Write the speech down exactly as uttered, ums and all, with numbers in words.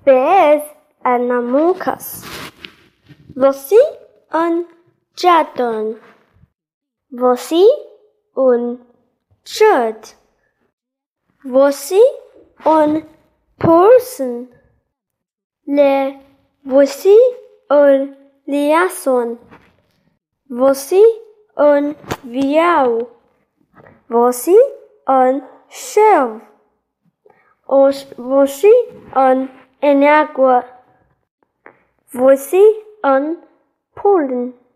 pés anamucas. Você un jadon. Você un jud. Você un person. Le você un liaison. Você un viau. Você un chèvre. Você un enagua. Você un pollen.